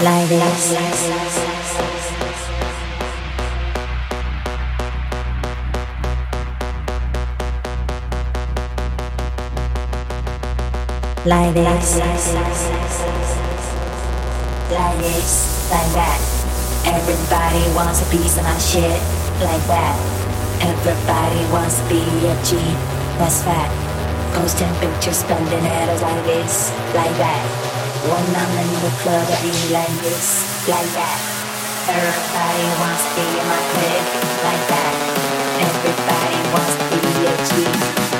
like this, like this, like this, like that. Everybody wants a piece of my shit, like that. Everybody wants to be a G, that's fat. Posting pictures, spending headers like this, like that. When I'm in the club, I be like this, like that. Everybody wants to be in my clique, like that. Everybody wants to be a G.